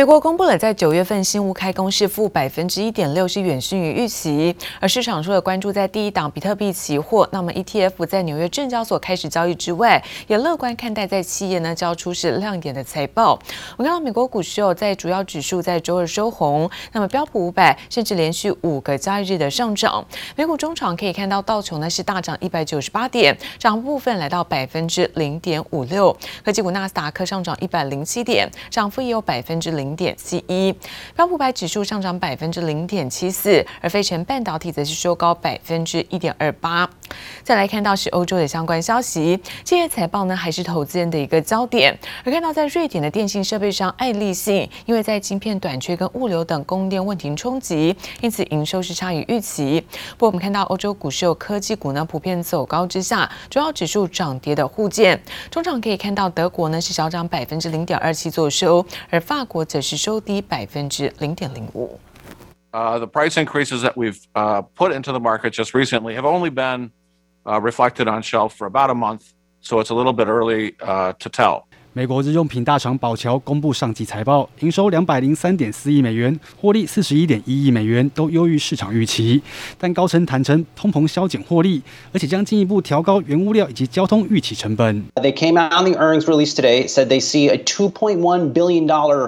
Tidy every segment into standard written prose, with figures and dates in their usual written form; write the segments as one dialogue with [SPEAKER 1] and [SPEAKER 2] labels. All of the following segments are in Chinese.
[SPEAKER 1] 美國公布了在9月份新屋開工是負1.6%，是遠遜於預期。而市場除了關注在第一檔比特幣期貨，那麼 ETF 在紐約證交所開始交易之外，也樂觀看待在企業呢交出是亮眼的財報。我們看到美國股市在主要指數在周二收紅，那麼標普500甚至連續5個交易日的上漲。美股中場可以看到道瓊呢是大漲198點，漲幅部分來到0.56%。科技股納斯達克上漲107點，漲幅也有0.71%。標普500指數上漲0.74%，而費城半導體則是收高1.28%。再來看到是歐洲的相關消息，企業財報呢還是投資人的一個焦點。而看到在瑞典的電信設備商愛立信，因為在晶片短缺跟物流等供應鏈問題衝擊，因此營收是差於預期。不過我們看到歐洲股市有科技股呢普遍走高之下，主要指數漲跌的互見。中場可以看到德國呢是小漲0.27%作收，而法國則是收低0.05%。
[SPEAKER 2] The price increases that we've put into the market just recently have only been reflected on shelf for about a month, so it's a little bit early to tell.
[SPEAKER 3] 美國日用品大廠寶僑公布上季財報，營收203.4億美元，獲利41.1億美元，都優於市場預期。但高層坦承通膨削減獲利，而且將進一步調高原物料以及交通預期成本。
[SPEAKER 4] They came out on the earnings release today, said they see a $2.1 billion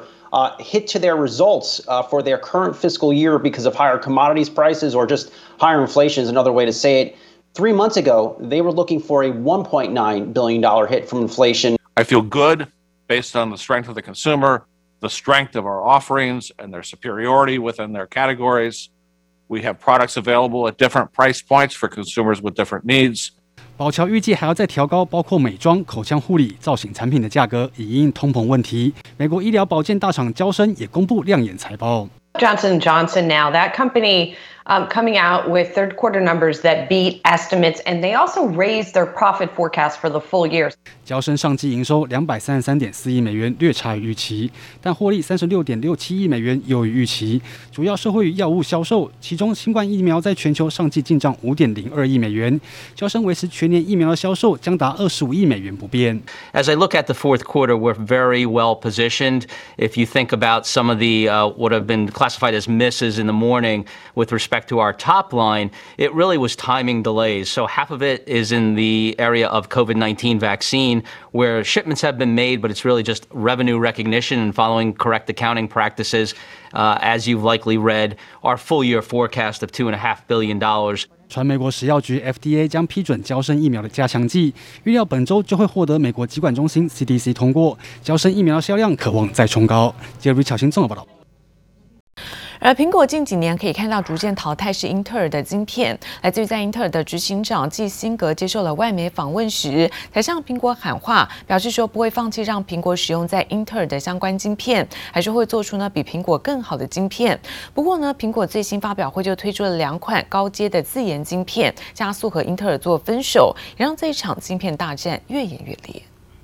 [SPEAKER 4] hit to their results for their current fiscal year because of higher commodities prices or just higher inflation is another way to say it. 3 months ago, they were looking for a $1.9 billion hit from inflation.
[SPEAKER 2] I feel good based on the strength of the consumer, the strength of our offerings, and their superiority within their categories. We have products available at different price points for consumers with different needs.
[SPEAKER 3] 寶僑預計還要再調高包括美妝、口腔護理、造型產品的價格，以因應通膨問題。美國醫療保健大廠嬌生也公布亮眼財報。
[SPEAKER 5] Johnson & Johnson now, that company coming out with third quarter numbers that beat estimates, and they also raised their profit forecast for the full year.
[SPEAKER 3] 嬌生上季營收233.4億美元，略差於預期，但獲利36.67億美元優於預期，主要受惠於藥物銷售，其中新冠疫苗在全球上季進賬5.02億美元，嬌生維持全年疫苗的銷售將達25億美元不變。
[SPEAKER 6] As I look at the fourth quarter, we're very well positioned. If you think about some of the what have been classified as misses in the morning with respect to our top line, it really was timing delays. So half of it is in the area of COVID-19 vaccine, where shipments have been made, but it's really just revenue recognition and following correct accounting practices. As you've likely read, our full year forecast of $2.5 billion.
[SPEAKER 3] 傳美國食藥局 FDA 將批准嬌生疫苗的加強劑，預料本週就會獲得美國疾管中心 CDC 通過，嬌生疫苗的銷量可望再衝高。接着，巧新綜合報道。
[SPEAKER 1] 而蘋果近幾年可以看到逐漸淘汰是英特爾的晶片，來自於在英特爾的執行長季辛格接受了外媒訪問時，才向蘋果喊話，表示說不會放棄讓蘋果使用在英特爾的相關晶片，還是會做出比蘋果更好的晶片。不過呢，蘋果最新發表會就推出了2款高階的自研晶片，加速和英特爾做分手，也讓這一場晶片大戰越演越烈。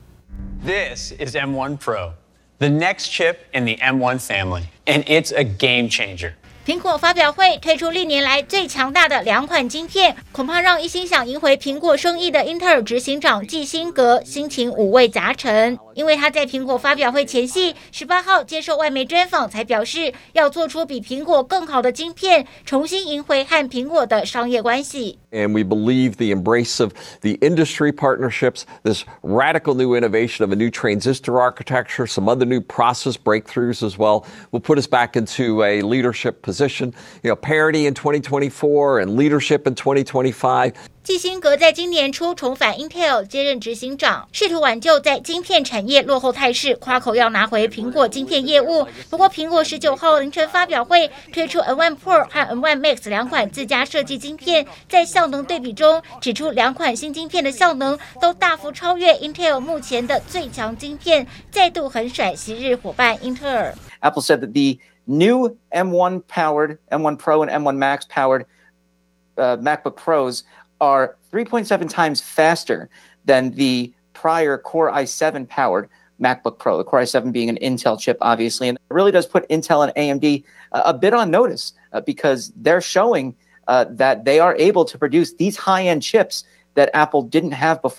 [SPEAKER 7] This is M1 Pro, the next chip in the M1 family, and it's a game changer.
[SPEAKER 8] 蘋果發表會推出歷年來最強大的2款晶片，恐怕讓一心想贏回蘋果生意的英特爾執行長季辛格心情五味雜陳。因為他在蘋果發表會前夕18號接受外媒專訪，才表示要做出比蘋果更好的晶片，重新贏回和蘋果的商業關係。
[SPEAKER 9] And we believe the embrace of the industry partnerships, this radical new innovation of a new transistor architecture, some other new process breakthroughs as well, will put us back into a leadership position. Parity in 2024 and leadership in 2025.
[SPEAKER 8] 季辛格在今年初重返 Intel 接任執行長，試圖挽救在晶片產業落後態勢，誇口要拿回蘋果晶片業務。不過，蘋果19號凌晨發表會推出 M1 Pro 和 M1 Max 2款自家設計晶片，在效能對比中指出2款新晶片的效能都大幅超越 Intel 目前的最強晶片，再度狠甩昔日夥伴英特爾。
[SPEAKER 10] Apple said that the new M1 powered, M1 Pro and M1 Max powered MacBook Pros are 3.7 times faster than the prior Core i7 powered MacBook Pro, the Core i7 being an Intel chip, obviously. And it really does put Intel and AMD a bit on notice because they're showing that they are able to produce these high-end chips that Apple didn't have before.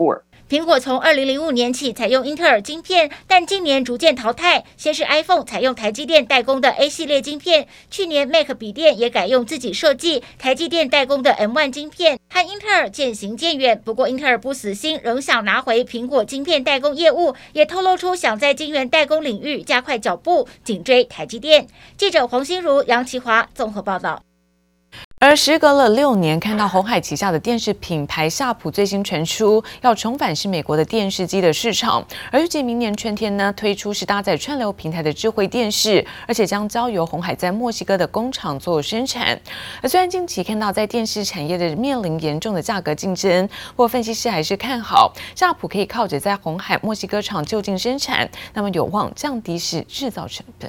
[SPEAKER 8] 蘋果從2005年起採用英特爾晶片，但近年逐漸淘汰。先是 iPhone 採用台積電代工的 A 系列晶片，去年 Mac 筆電也改用自己設計台積電代工的 M1 晶片，和英特爾漸行漸遠。不過英特爾不死心，仍想拿回蘋果晶片代工業務，也透露出想在晶圓代工領域加快腳步，緊追台積電。記者黃心如、楊奇華綜合報道。
[SPEAKER 1] 而時隔了6年，看到鴻海旗下的電視品牌夏普最新傳出要重返是美國的電視機的市場，而預計明年春天呢推出是搭載串流平台的智慧電視，而且將交由鴻海在墨西哥的工廠做生產。而雖然近期看到在電視產業的面臨嚴重的價格競爭，不過分析師還是看好夏普可以靠着在鴻海墨西哥廠就近生產，那麼有望降低是製造成本。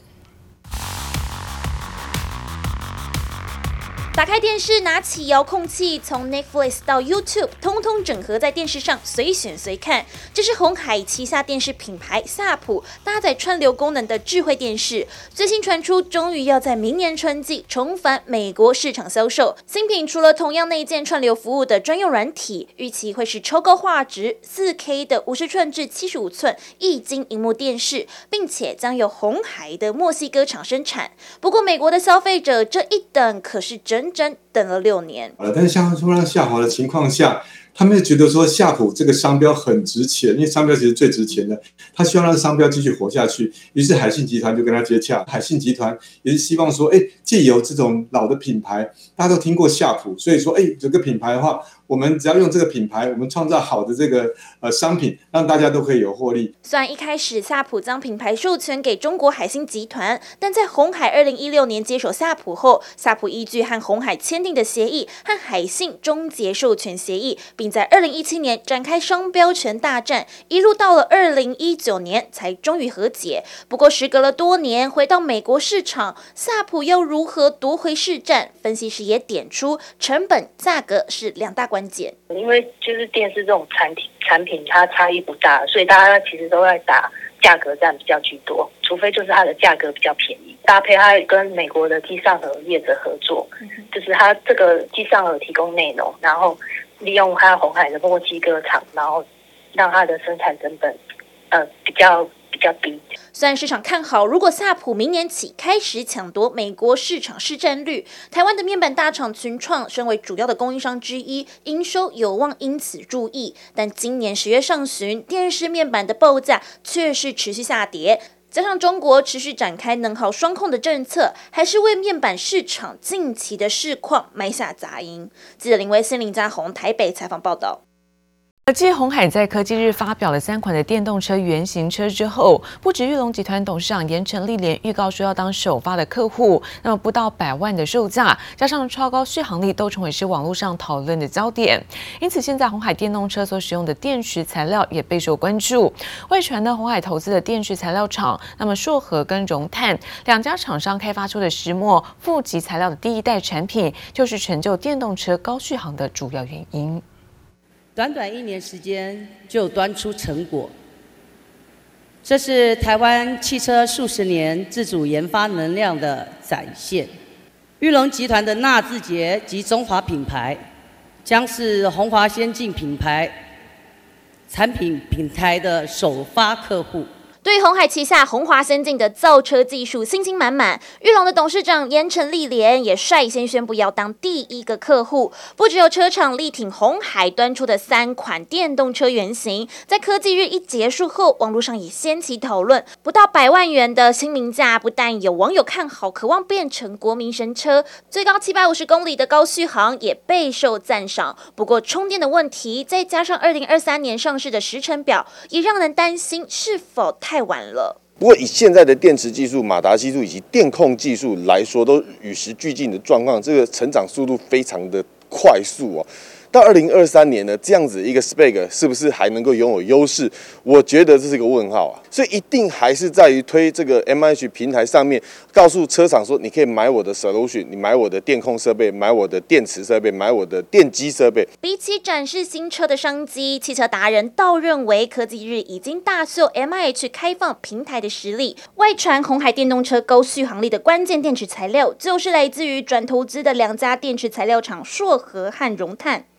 [SPEAKER 11] 打開電視，拿起遙控器，從 Netflix 到 YouTube， 通通整合在電視上，隨選隨看。這是鴻海旗下電視品牌夏普搭載串流功能的智慧電視，最新傳出，終於要在明年春季重返美國市場銷售。新品除了同樣內建串流服務的專用軟體，預期會是超高畫質 4K 的50寸至75寸液晶螢幕電視，並且將由鴻海的墨西哥廠生產。不過，美國的消費者這一等可是整等了6年，
[SPEAKER 12] 但是像突然下滑的情況下，他們覺得說夏普這個商標很值錢，因為商標其實最值錢的，他希望讓商標繼續活下去。於是海信集團就跟他接洽，海信集團也是希望說，借由這種老的品牌，大家都聽過夏普，所以說，這個品牌的話，我們只要用這個品牌，我們創造好的這個商品，讓大家都可以有獲利。
[SPEAKER 11] 雖然一開始夏普將品牌授權給中國海信集團，但在鴻海2016年接手夏普後，夏普依據和鴻海簽訂的協議，和海信終結授權協議，並在2017年展開商標權大戰，一路到了2019年才終於和解。不過時隔了多年，回到美國市場，夏普要如何奪回市占？分析師也點出，成本、價格是兩大關鍵。
[SPEAKER 13] 因為就是電視這種產品它差異不大，所以大家其實都在打價格戰比較居多，除非就是它的價格比較便宜，搭配它跟美國的機上盒業者合作，就是它這個機上盒提供內容，然後利用它鴻海的墨西哥廠，然後讓它的生產成本比較低。
[SPEAKER 11] 雖然市場看好，如果夏普明年起開始搶奪美國市場市占率，台灣的面板大廠群創身為主要的供應商之一，營收有望因此注意。但今年10月上旬，電視面板的報價卻是持續下跌，加上中國持續展開能耗雙控的政策，還是為面板市場近期的市況埋下雜音。記者林威森、林嘉宏台北採訪報道。
[SPEAKER 1] 繼鴻海在科技日發表了3款的電動車原型車之後，不止裕隆集團董事長嚴成立連預告說要當首發的客戶，那麼不到100萬的售價，加上超高續航力，都成為是網絡上討論的焦點。因此，現在鴻海電動車所使用的電池材料也備受關注。外傳呢，鴻海投資的電池材料廠，那麼碩禾跟榮碳2家廠商開發出的石墨負極材料的第1代產品，就是成就電動車高續航的主要原因。
[SPEAKER 14] 短短1年時間就端出成果，這是台灣汽車數十年自主研發能量的展現。裕隆集團的納智捷及中華品牌，將是鴻華先進品牌產品平台的首發客戶。
[SPEAKER 11] 對於鴻海旗下鴻華先進的造車技術信心滿滿，裕隆的董事長嚴成立連也率先宣布要當第1個客戶。不只有車廠力挺鴻海端出的3款電動車原型，在科技日一結束後，網絡上也掀起討論。不到100萬元的親民價，不但有網友看好，渴望變成國民神車，最高750公里的高續航也備受讚賞。不過充電的問題，再加上2023年上市的時程表，也讓人擔心是否太晚了。
[SPEAKER 15] 不過以現在的電池技術、馬達技術以及電控技術來說，都與時俱進的狀況，這個成長速度非常的快速哦。到2023年呢，這樣子一個 spec 是不是還能夠擁有優勢？我覺得這是個問號啊。所以一定還是在於推這個 MIH 平台上面，告訴車廠說，你可以買我的 solution， 你買我的電控設備，買我的電池設備，買我的電機設備。
[SPEAKER 11] 比起展示新車的商機，汽車達人倒認為科技日已經大秀 MIH 開放平台的實力。外傳鴻海電動車高續航力的關鍵電池材料，就是來自於轉投資的2家電池材料廠碩禾和榮碳。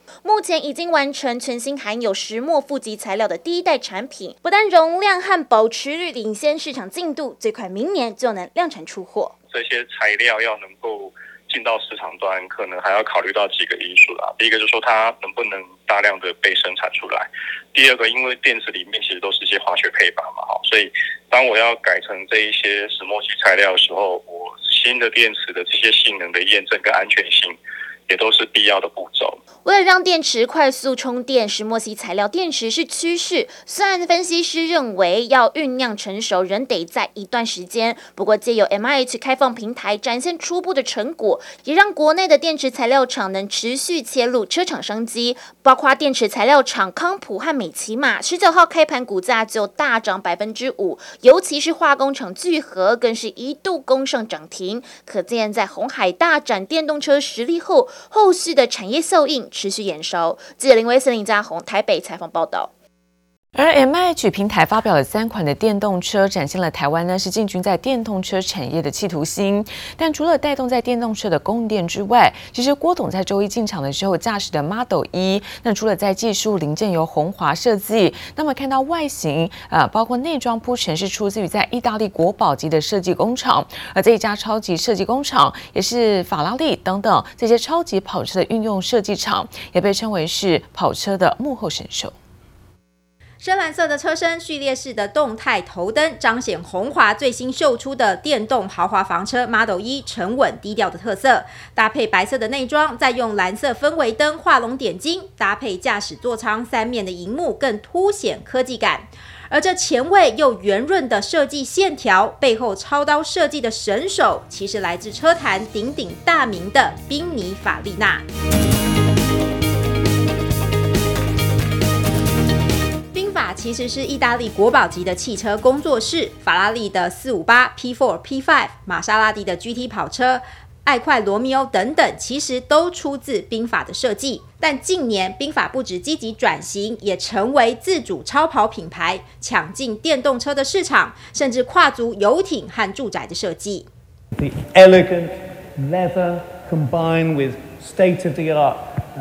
[SPEAKER 11] 目前已經完成全新含有石墨负极材料的第一代產品，不但容量和保持率領先市場進度，最快明年就能量產出貨。
[SPEAKER 16] 這些材料要能夠進到市場端，可能還要考慮到幾個因素啦。第一個就是說它能不能大量的被生產出来。第二個，因為電池裡面其實都是一些化學配方嘛，所以當我要改成這一些石墨烯材料的時候，我新的電池的這些性能的驗證跟安全性也都是必要的步驟。
[SPEAKER 11] 為了讓電池快速充電，石墨烯材料電池是趨勢。雖然分析師認為要醞釀成熟仍得在一段時間，不過借由 MIH 開放平台展現初步的成果，也讓國內的電池材料廠能持續切入車廠商機。包括電池材料廠康普和美琪瑪19號開盤股價就大漲5%，尤其是化工廠聚合更是一度攻上漲停。可見在鴻海大展電動車實力後，後續的產業效應持續延燒。記者林威森、林嘉宏台北採訪報道。
[SPEAKER 1] 而 MIH 平台發表了3款的電動車，展現了台灣呢是進軍在電動車產業的企圖心。但除了帶動在電動車的供電之外，其實郭董在周一進場的時候駕駛的 Model E， 那除了在技術零件由鴻華設計，那麼看到外形包括內裝鋪陳是出自於在意大利國寶級的設計工廠，而這一家超級設計工廠也是法拉利等等這些超級跑車的運用設計廠，也被稱為是跑車的幕後神獸。
[SPEAKER 17] 深藍色的車身，序列式的動態頭燈，彰顯鴻華最新秀出的電動豪華房車 Model E 沉穩低調的特色。搭配白色的內裝，再用藍色氛圍燈畫龍點睛，搭配駕駛座艙3面的熒幕，更凸顯科技感。而這前衛又圓潤的設計線條，背後操刀設計的神手，其實來自車壇鼎鼎大名的賓尼法利納。其實是意大利國寶級的汽車工作室，法拉利的458、P4、P5， 瑪莎拉蒂的 GT 跑車、愛快羅密歐等等，其實都出自賓法的設計。但近年，賓法不止積極轉型，也成為自主超跑品牌，搶進電動車的市場，甚至跨足遊艇和住宅的設計。
[SPEAKER 18] The elegant leather combined with state-of-the-art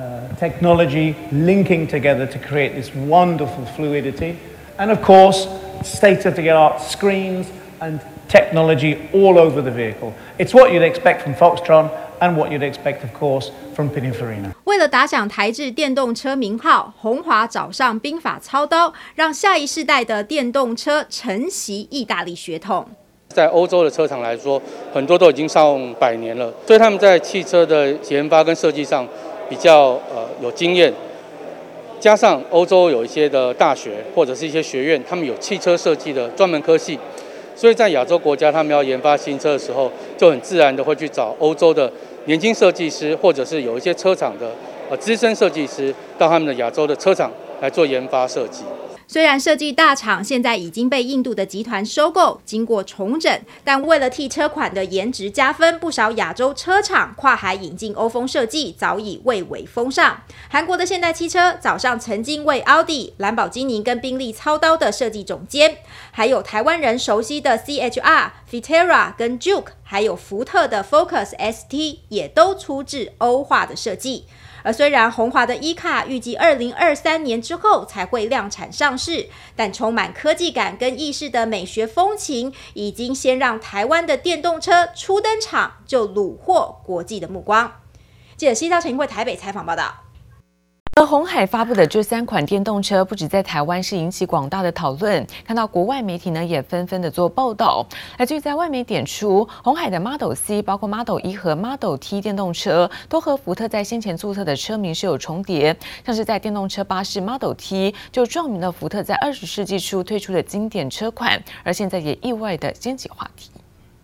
[SPEAKER 18] technology linking together to create this wonderful fluidity, and of course state-of-the-art screens and technology all over the vehicle. It's what you'd expect from Foxtron and what you'd expect, of course, from Pininfarina.
[SPEAKER 17] 為了打響台制電動車名號，鴻華找上賓法操刀，讓下一世代的電動車承襲意大利血統。
[SPEAKER 19] 在歐洲的車廠來說，很多都已經上100年了，所以他們在汽車的研發跟設計上比較有經驗，加上歐洲有一些的大學或者是一些學院，他們有汽車設計的專門科系，所以在亞洲國家他們要研發新車的時候，就很自然的會去找歐洲的年輕設計師，或者是有一些車廠的資深設計師到他們的亞洲的車廠來做研發設計。
[SPEAKER 17] 雖然設計大廠現在已經被印度的集團收購，經過重整，但為了替車款的顏值加分，不少亞洲車廠跨海引進歐風設計，早已蔚為風尚。韓國的現代汽車早上曾經為奧迪、蘭博基尼跟賓利操刀的設計總監，還有台灣人熟悉的 CHR、Vitara 跟 Juke， 還有福特的 Focus ST 也都出自歐化的設計。而雖然鴻華的 E-Car 預計2023年之後才會量產上市，但充滿科技感跟意式的美學風情，已經先讓台灣的電動車初登場就虜獲國際的目光。記者西超陳英慧台北採訪報道。
[SPEAKER 1] 而鴻海發布的這3款電動車，不止在台灣是引起廣大的討論，看到國外媒體呢也紛紛的做報道。來自於在外媒點出，鴻海的 Model C、包括 Model E 和 Model T 電動車，都和福特在先前注冊的車名是有重疊。像是在電動車巴士 Model T， 就撞名了福特在20世紀初推出的經典車款，而現在也意外的掀起話題。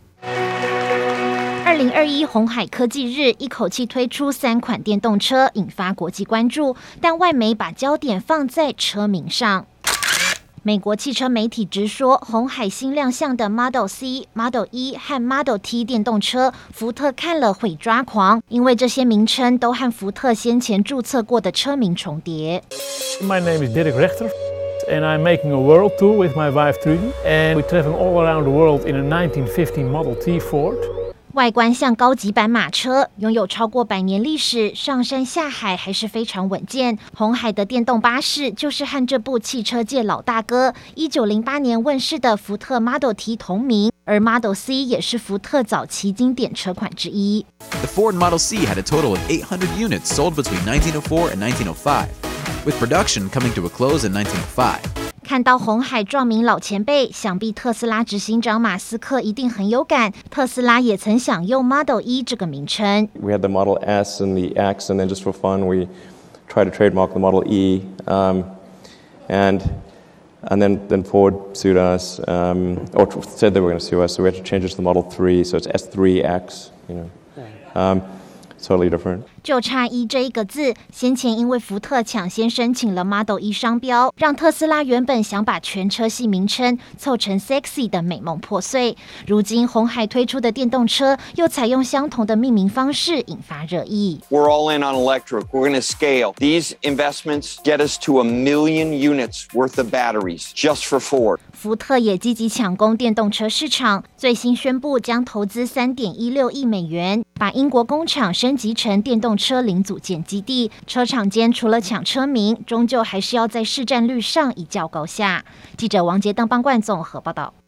[SPEAKER 8] 2021鴻海科技日一口氣推出3款電動車，引發國際關注，但外媒把焦點放在車名上。美國汽車媒體直說，鴻海新亮相的 Model C、Model E 和 Model T 電動車，福特看了會抓狂，因為這些名稱都和福特先前註冊過的車名重疊。
[SPEAKER 20] My name is Dirk Rechter, and I'm making a world tour with my wife Trudy, and we're traveling all around the world in a 1950 Model T Ford.
[SPEAKER 8] 外觀像高級版馬車，擁有超過100年歷史，上山下海還是非常穩健。鴻海的電動巴士就是和這部汽車界老大哥1908年問世的福特 Model T 同名，而 Model C 也是福特早期經典車款之一。
[SPEAKER 21] The Ford Model C had a total of 800 units sold between 1904 and 1905, with production coming to a close in 1905.
[SPEAKER 8] 看到鴻海撞名老前輩，想必特斯拉執行長馬斯克一定很有感。特斯拉也曾想用 Model E 這個名稱。
[SPEAKER 22] We had the Model S and the X, and then just for fun, we tried to trademark the Model E, and then Ford sued us, or said they were going to sue us, so we had to change it to the Model 3, so it's S3X, you know. Totally different.
[SPEAKER 8] 就差E這一個字，先前因為福特搶先申請了 Model E 商標，讓特斯拉原本想把全車系名稱湊成 sexy 的美夢破碎。如今鴻海推出的電動車又採用相同的命名方式，引發熱議。
[SPEAKER 23] We're all in on electric. We're going to scale. These investments get us to 1 million units worth of batteries just for Ford.
[SPEAKER 8] 福特也積極搶攻電動車市場，最新宣布將投資3.16億美元，把英國工廠升級成電動車零組件基地。車廠間除了搶車名，終究還是要在市占率上一較高下。記者王杰、鄧邦冠綜合報道。